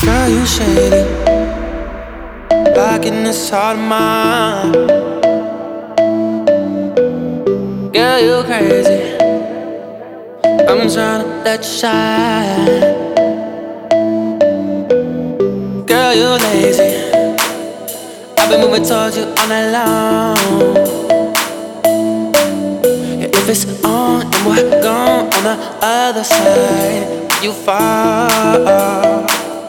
Girl, you shady, like in this heart of mine. Girl, you crazy, I'm tryna let you shine. Girl, you lazy, I've been moving towards you all night long. Yeah, if it's on and we're gone on the other side, you fall.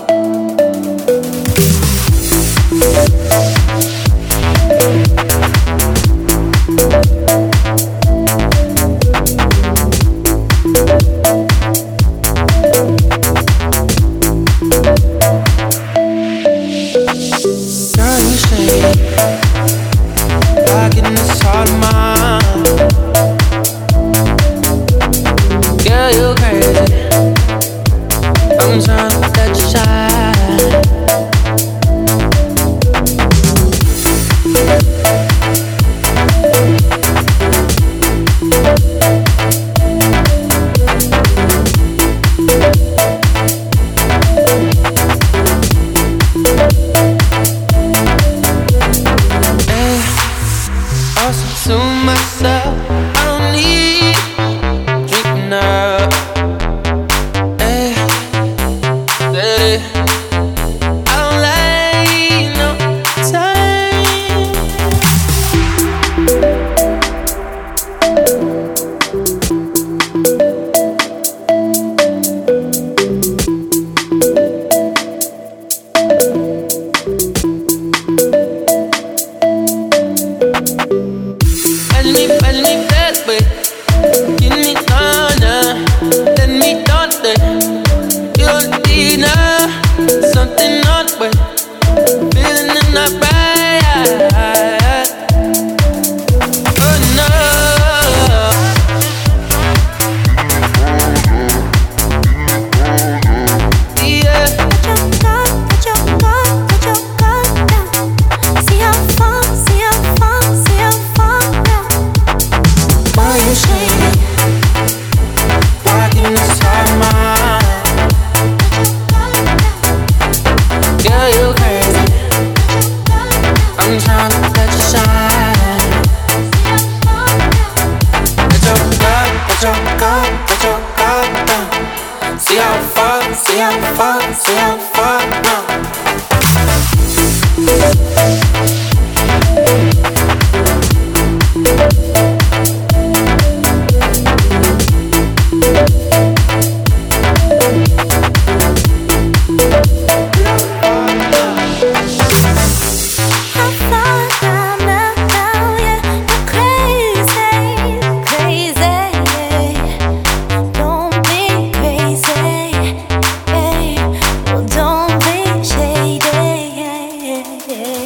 Girl, you shady, like in this heart of mine. Girl, you crazy, I'm tryna let you shine. To myself, I don't need drinking up. Hey, hey, I don't like no time. Imagine me that way. Give me honor, let me down there. You don't need now, something on the way. Feeling in the right. Oh no. Yeah. Put your guard down. See how far, see how far, see how far now. Boy, you shady, Like in this heart of mine. Girl, you crazy, I'm tryna let you shine. Let your guard down. See how far, see how far, see how far now. how far down, now, yeah. You're crazy, crazy. Don't be crazy, yeah. Well, don't be shady, yeah.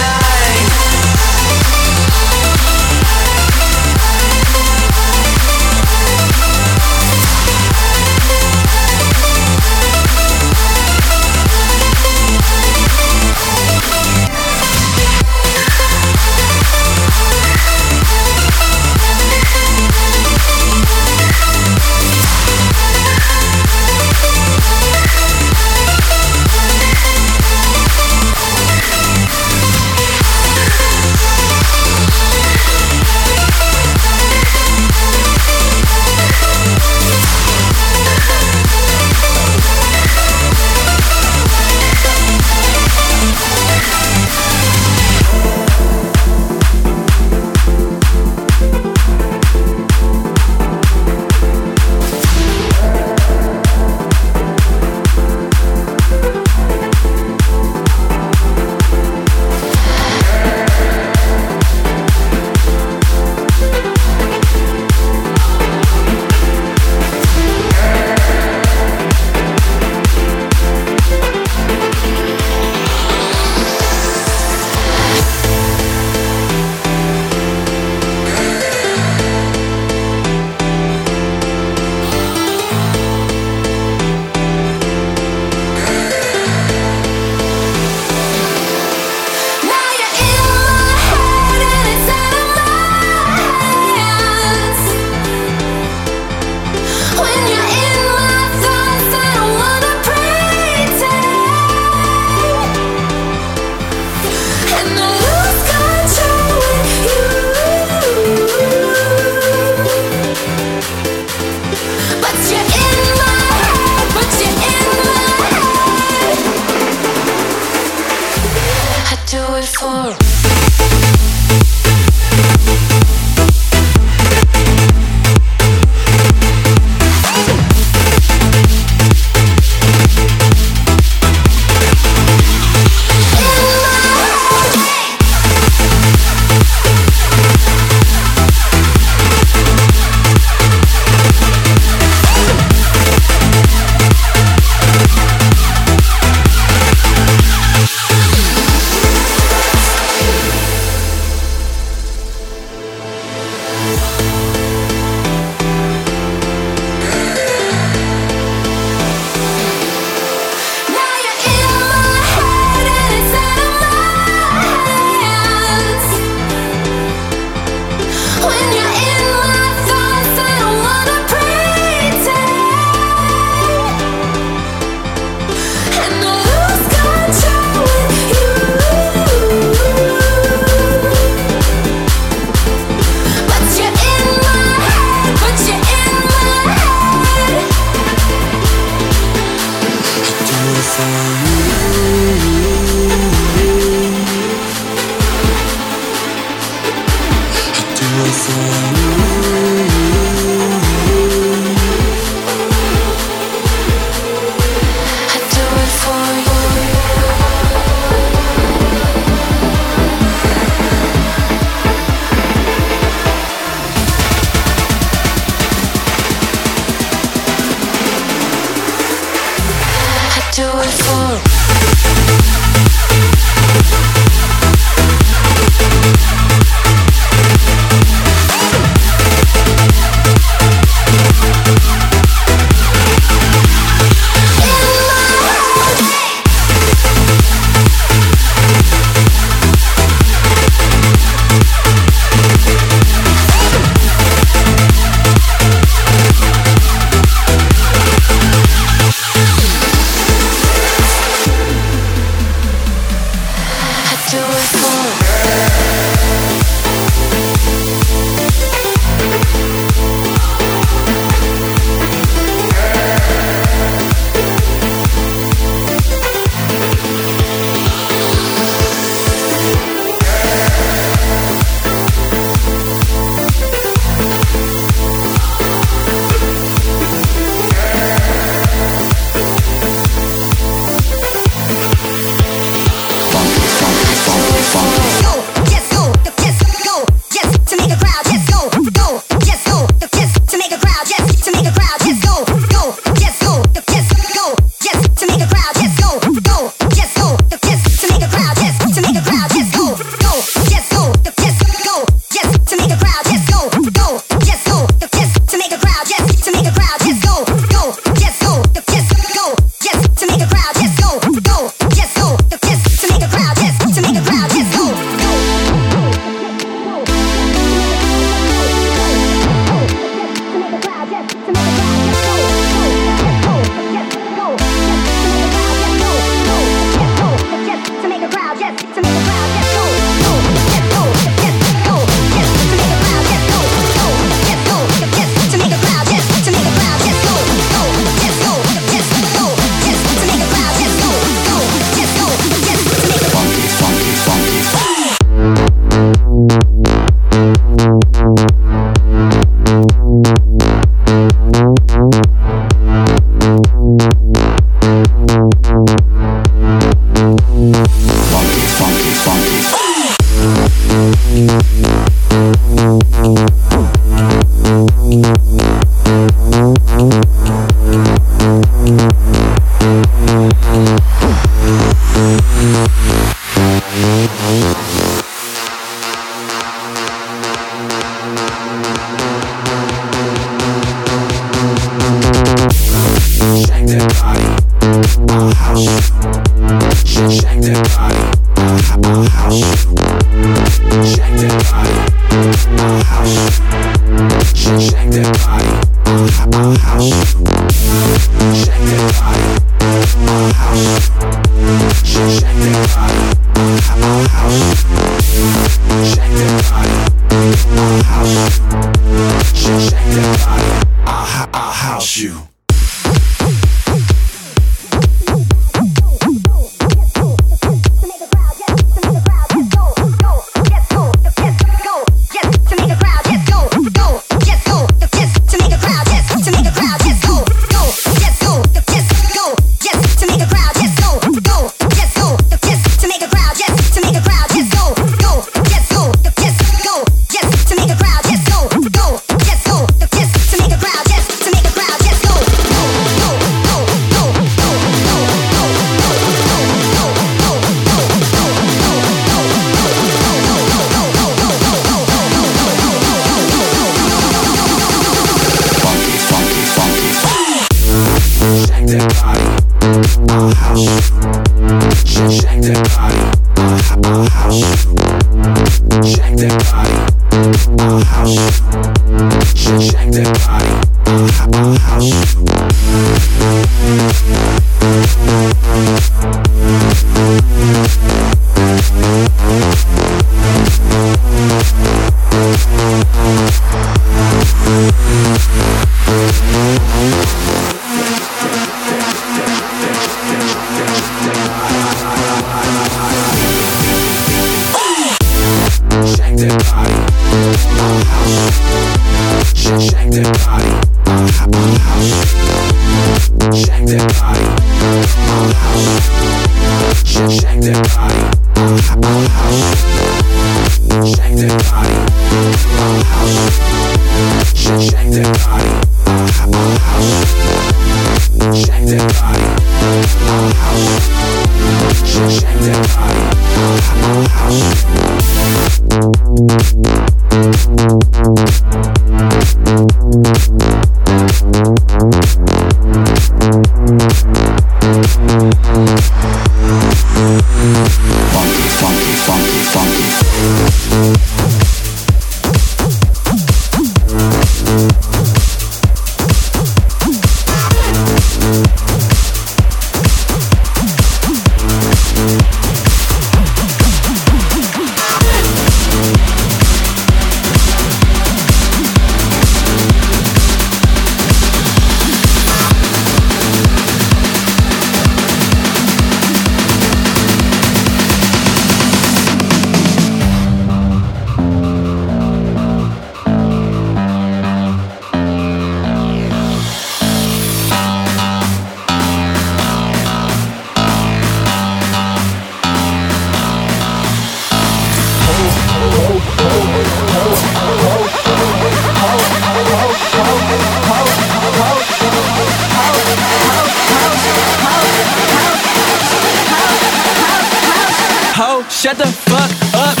Shut the fuck up.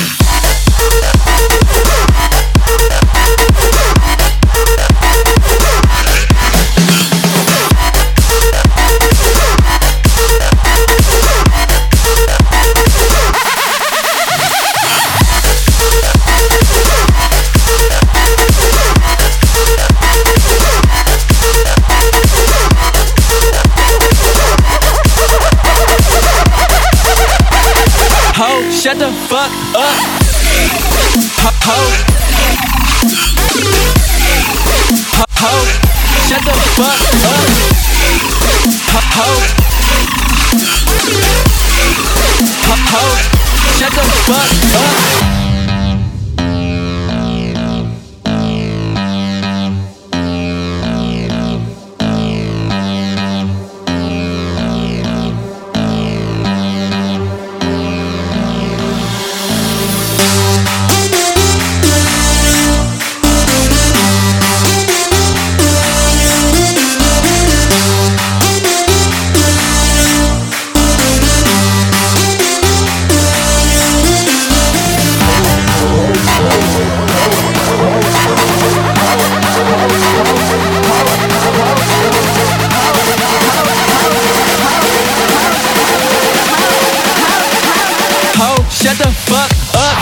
Shut the fuck up. Ho. Shut the fuck up. Ho. Shut the fuck up. Shut the fuck up.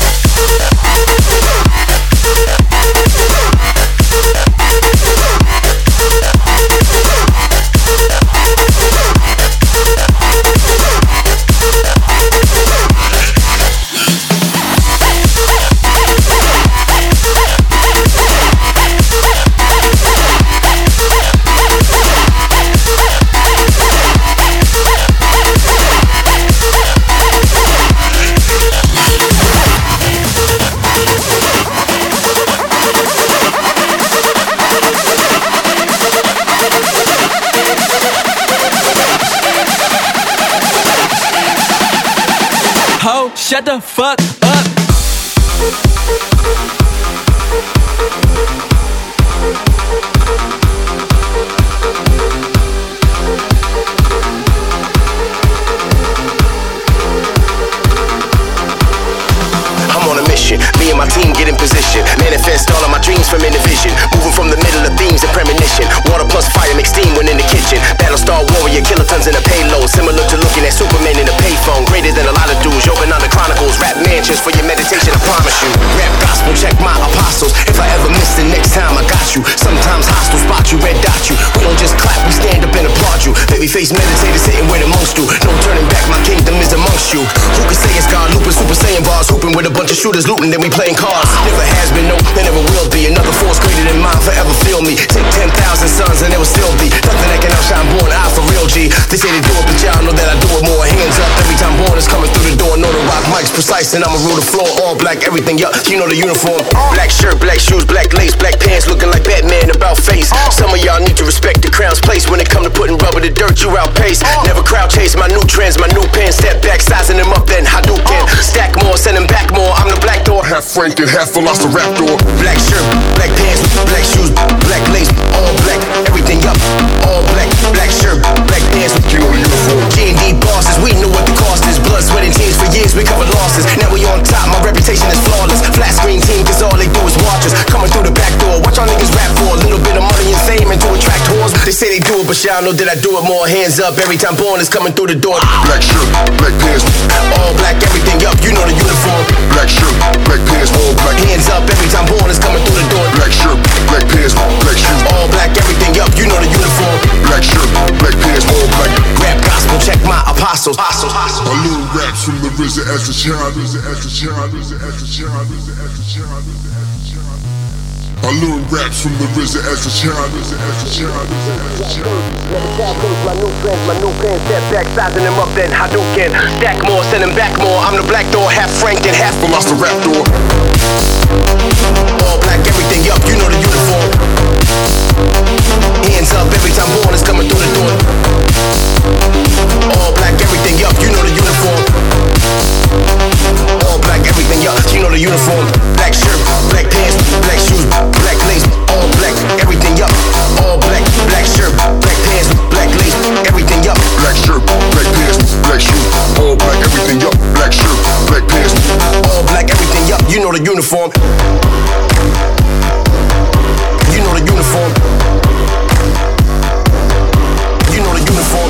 Ho, shut the fuck up. I'm on a mission, me and my team get in position. Manifest all of my dreams from vision. Moving from the middle of themes and premonition. Water plus fire mix steam when in the kitchen. Battlestar warrior, kilotons in a payload. Similar to looking at Superman in a payphone. Greater than a lot of dudes, yoga on the chronicles. Rap mansions for your meditation, I promise you. Rap gospel, check my apostles. If I ever miss the next time, I got you. Sometimes hostile spot you, red dot you. We don't just clap, we stand up and applaud you. Babyface meditators sitting where the monks do. No turning back, my kingdom is amongst you. Who can say it's God? Looping, Super Saiyan bars. Hooping with a bunch of shooters looting, then we playing cards. Never has been, no, there never will be. Another force greater than mine, forever feel me. Take 10,000 sons and there will still be nothing that can outshine born eye for real G. They say they do it, but y'all know that I do it more. Hands up every time born is coming through the door. Know the rock mics precise. Christ and I'ma rule the floor. All black, everything, yup, you know the uniform. Black shirt, black shoes, black lace, black pants, looking like Batman about face. Some of y'all need to respect the crown's place. When it come to putting rubber to dirt, you outpace. Never crowd chase my new trends, my new pants. Step back, sizing them up, then Hadouken. Stack more, send them back more. I'm the black door. Half Frank and half Velociraptor. Black shirt, black pants, black shoes, black lace, all black, everything up, all black. Black shirt, black pants, you know the uniform. G&D bosses, we know what the cost is. Blood, sweat, and tears for years, we covered losses. Now we on top, my reputation is flawless. Flat screen team, cause all they do is watch us. Coming through the back door, watch y'all niggas rap for a little bit of money and fame and to attract whores. They say they do it, but y'all know that I do it more. Hands up, every time Born is coming through the door. Black shirt, black pants, all black, everything up, you know the uniform. Black shirt, black pants, all black. Hands up, every time Born is coming through the door. Black shirt, black pants, black shoes, all black, everything up, you know the uniform. Black shirt, black pants, all black. Rap gospel, check my apostles. A little raps from the RZA as a child. I learned raps from the RZA as a child. My new friends, my new pants, step back, sizing them up, then Hadouken. Stack more, send them back more. I'm the black door, half Frank and half Velociraptor. all black, everything up, you know the uniform. Hands up, every time Born is coming through the door. All black, everything up, you know the uniform. All black, everything up, you know the uniform. Black shirt, black pants, black shoes, black lace, all black, everything up. All black, black shirt, black pants, black lace, everything up. Black shirt, black pants, black shoes, all black, everything up. Black shirt, black pants, all black, everything up, you know the uniform. You know the uniform. You know the uniform.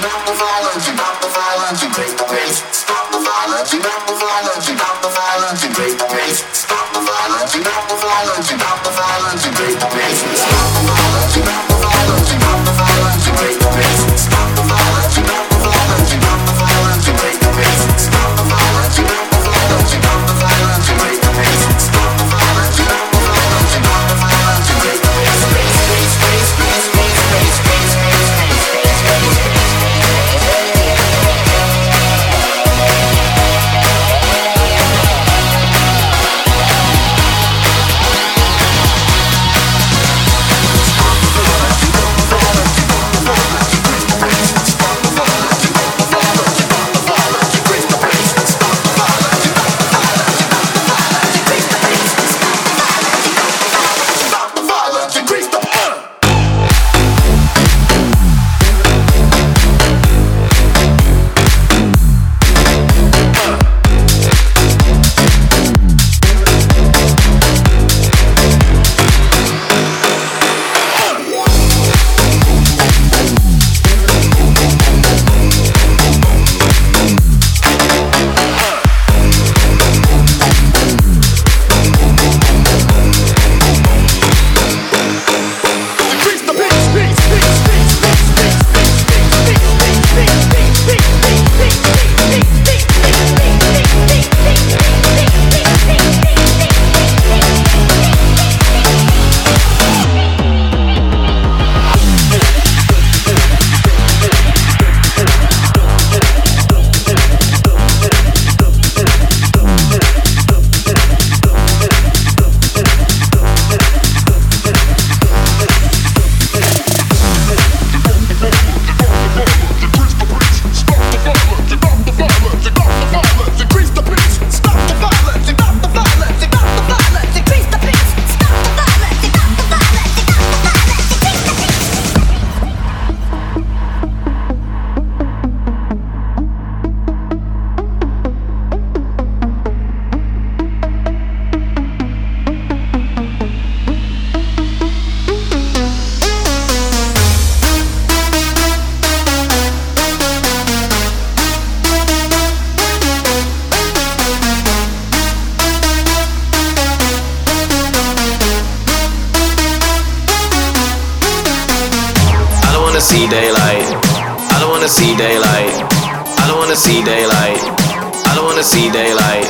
see daylight. I don't wanna see daylight. I don't wanna see daylight. I don't wanna see daylight.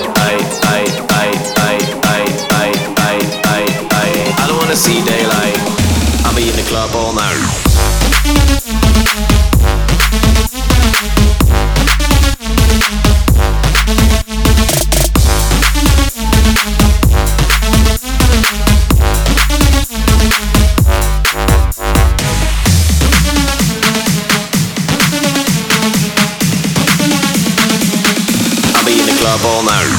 I don't wanna see daylight. I'll be in the club all night. All night.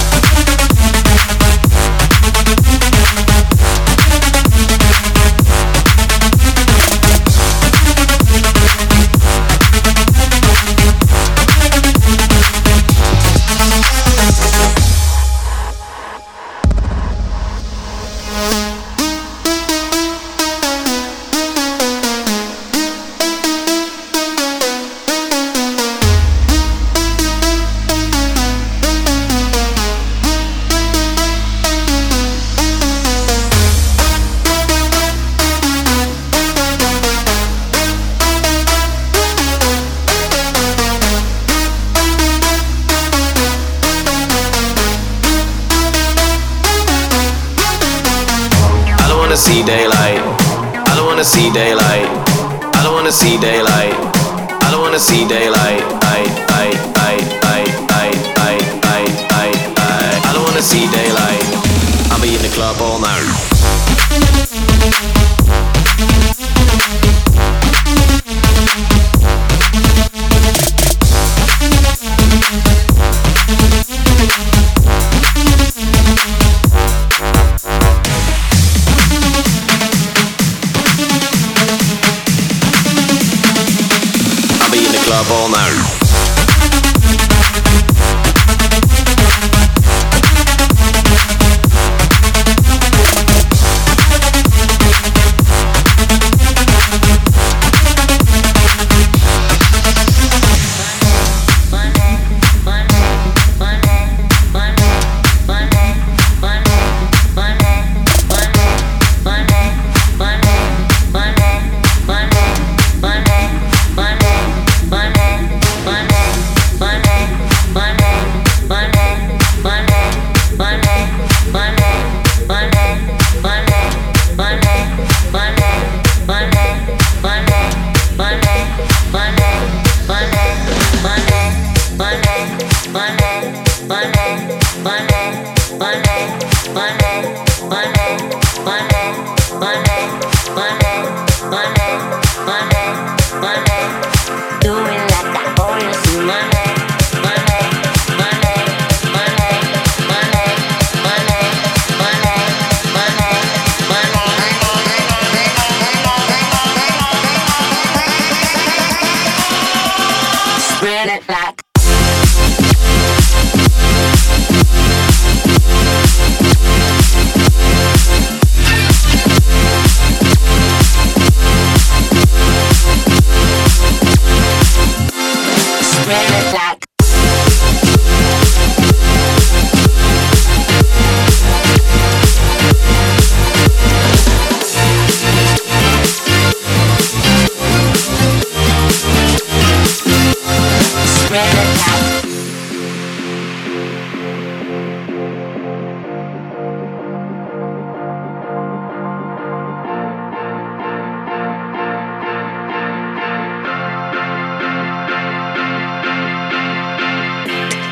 See daylight. I don't wanna see daylight. I don't wanna see daylight. I don't wanna see daylight. I don't wanna see daylight. I'll be in the club all night. All night.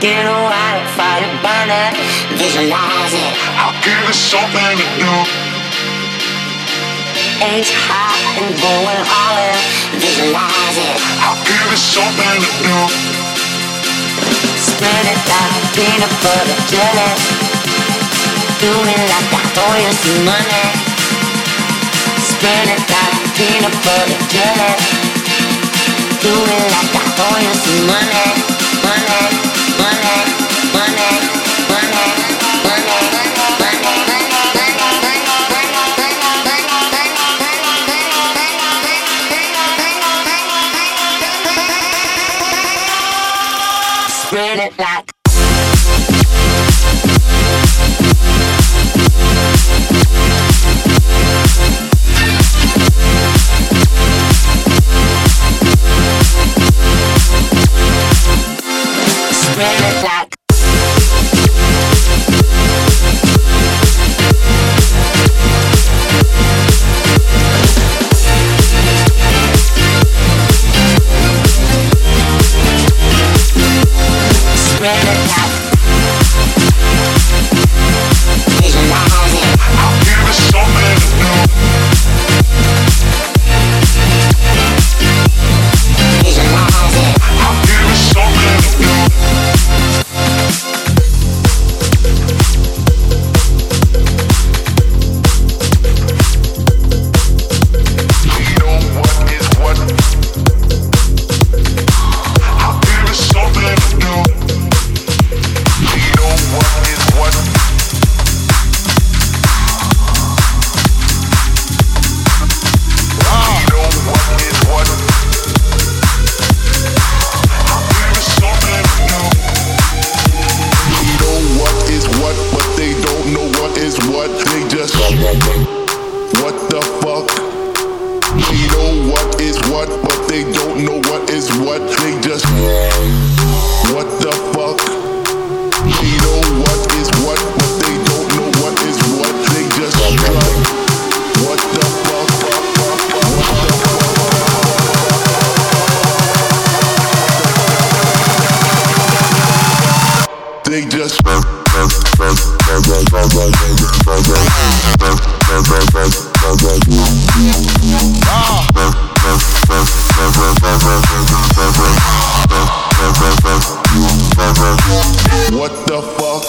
get a wildfire burning, visualize it. I'll give it something to do. H high and going all in, visualize it. I'll give it something to do. Spread it like peanut butter jelly. Do me like I owe you some money. Spread it like peanut butter jelly. Do me like I owe you some money. Money, money, money, money, money, spread it like spread it like spread it like visualize it. I'll give it something to do. Visualize it. I'll give it something to do. You know what is what? I'll give it something to do. You know what is what? You know what is what? I'll give it something to do. You know what is what, but they don't know what is what. They just what the fuck? You know what is what, but they don't know what is what. They just what the fuck? You know what is what, but they don't know what is what. They just what the fuck? They just what the fuck?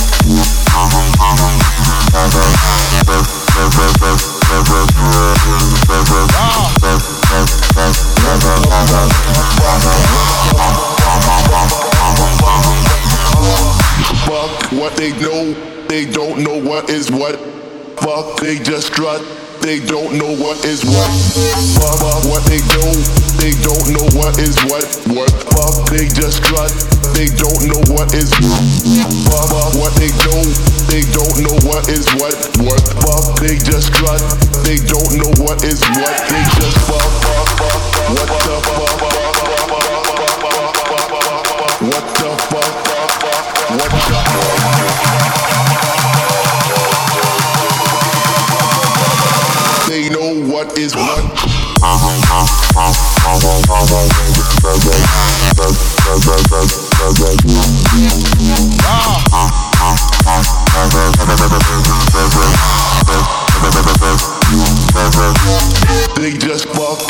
Fuck what they know, they don't know what is what. Fuck, they just strut, they don't know what is what. Fuck what they know, they don't know what is what. What? Fuck, they just strut, they don't know what is what. Fuck what they know, they don't know what is what. What? Fuck, they just strut, they don't know what is what. They just fuck. What the fuck? What the fuck? What the fuck? They know what is what. They just fuck.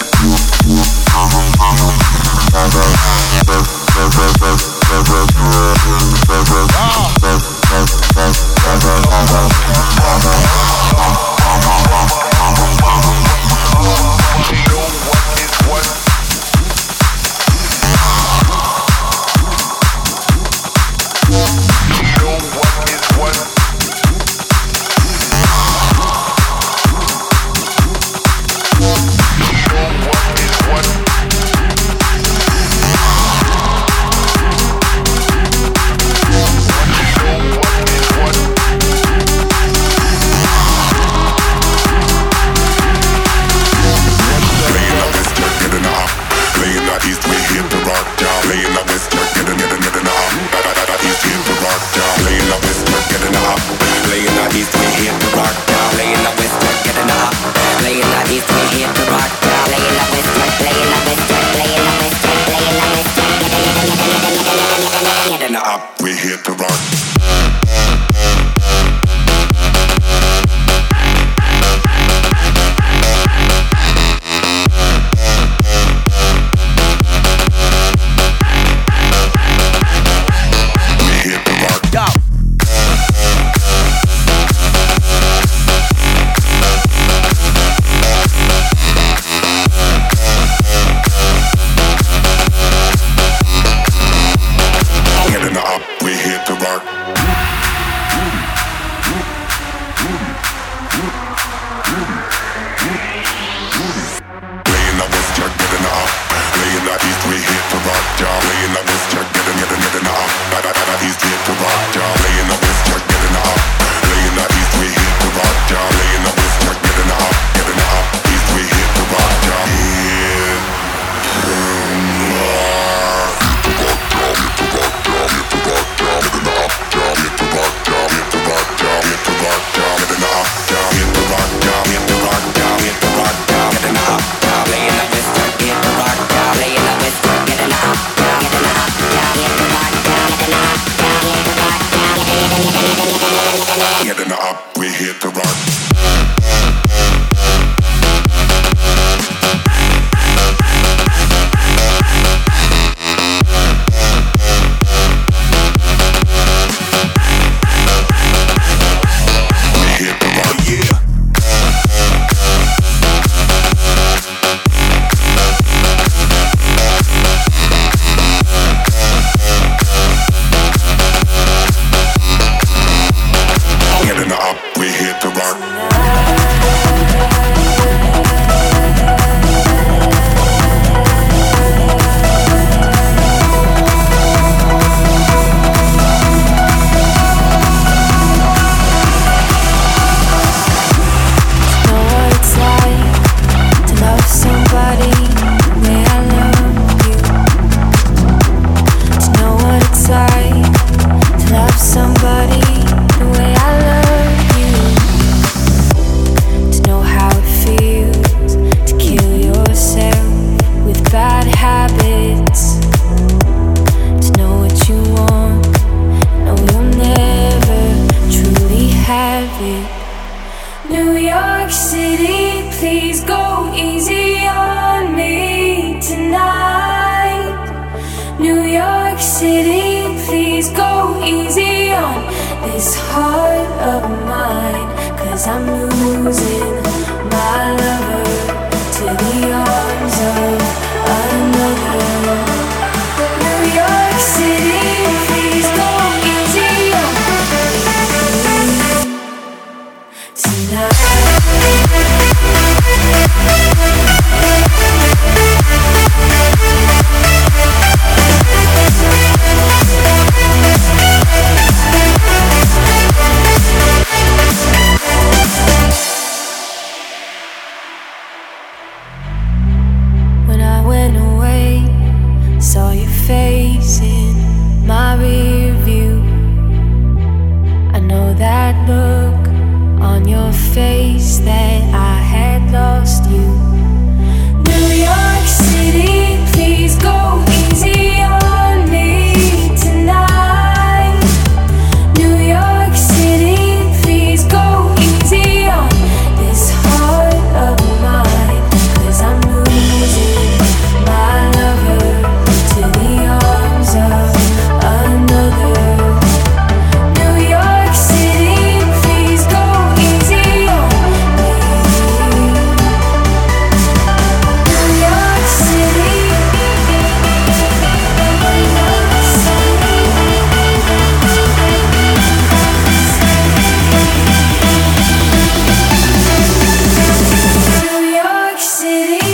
this heart of mine, 'cause I'm losing my lover to the arms of another. New York City, please go easy on me tonight. When I went away, saw your face in my rear view. I know that look on your face that I had lost you. New York City, please go easy on me tonight. New York City, please go easy on this heart of mine, 'cause I'm losing my lover to the arms of another. New York City, please go easy on me. New York City. New York City.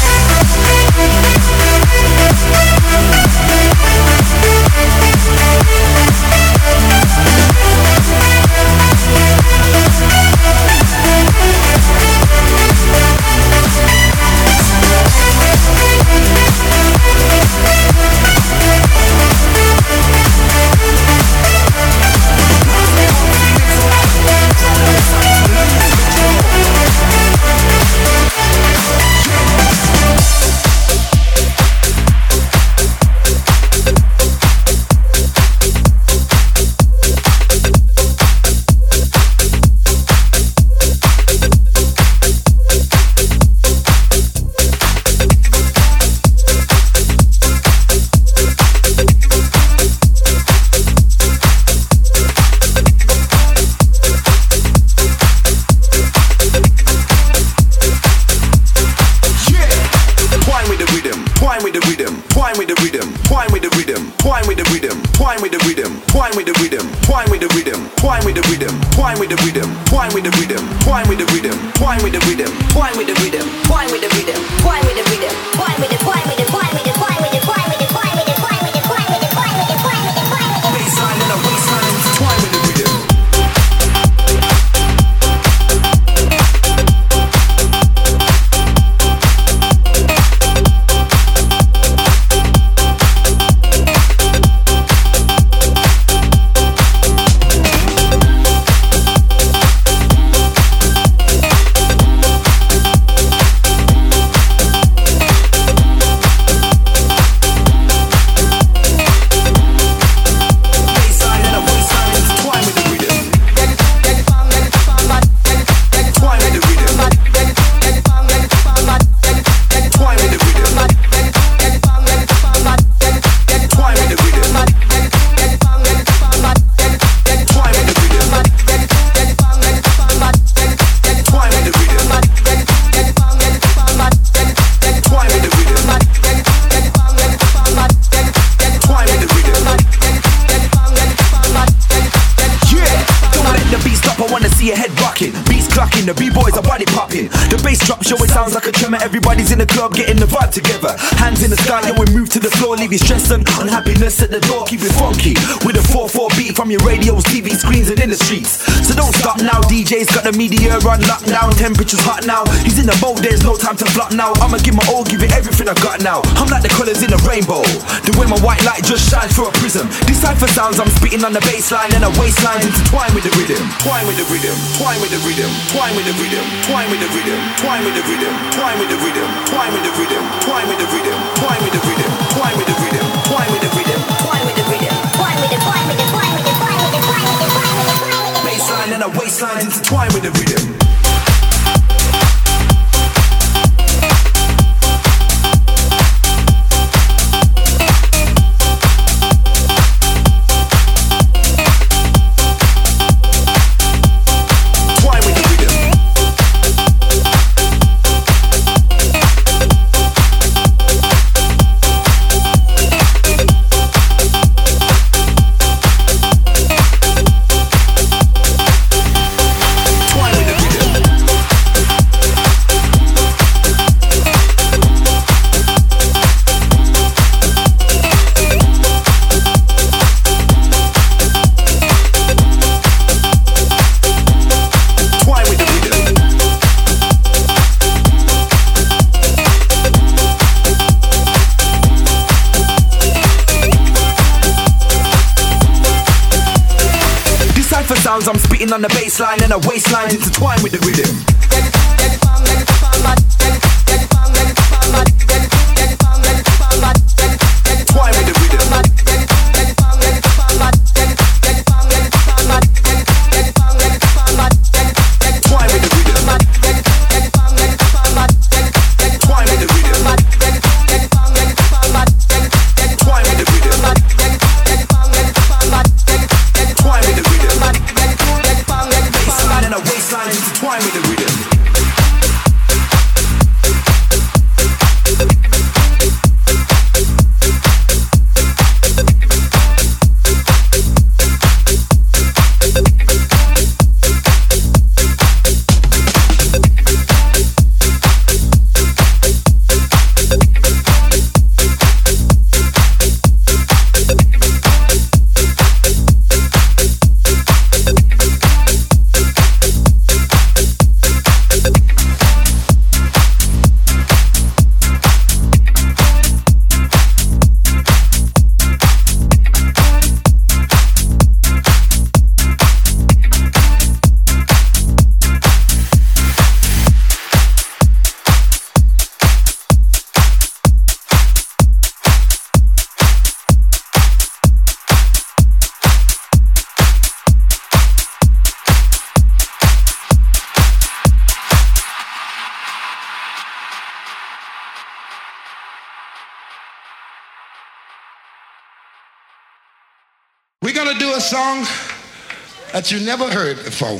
The B-boys are body popping. The bass drop show, it sounds like a tremor. Everybody's in the club getting the vibe together. Hands in the sky, yeah, we move to the floor. Leave you stressed and unhappiness at the door. Keep it funky with a 4/4 beat from your radios, TV screens and in the streets. So don't stop now, DJ's got the media on lockdown. Temperature's hot now, he's in the mode, there's no time to flop now. I'ma give my all, give it everything I got now. I'm like the colours in a rainbow, the way my white light just shines through a prism. Decipher sounds, I'm spitting on the bassline and a waistline intertwine with the rhythm. Twine with the rhythm, twine with the rhythm, twine with the rhythm, twine with the rhythm, twine with the rhythm, twine with the rhythm, twine with the rhythm, twine with the rhythm, twine with the rhythm, twine with the rhythm, twine with the rhythm, twine with the rhythm, twine with the twine with the twine with the twine with the twine with the twine with the twine with the bassline and a waistline intertwine with the rhythm. beating on the bass line and our waistlines intertwined with the rhythm. Twine with the rhythm. Twine with the rhythm. Twine with the rhythm. Twine with the rhythm. Twine with the rhythm. Baseline and a waistline intertwine with the rhythm. We're gonna do a song that you never heard before.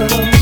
love.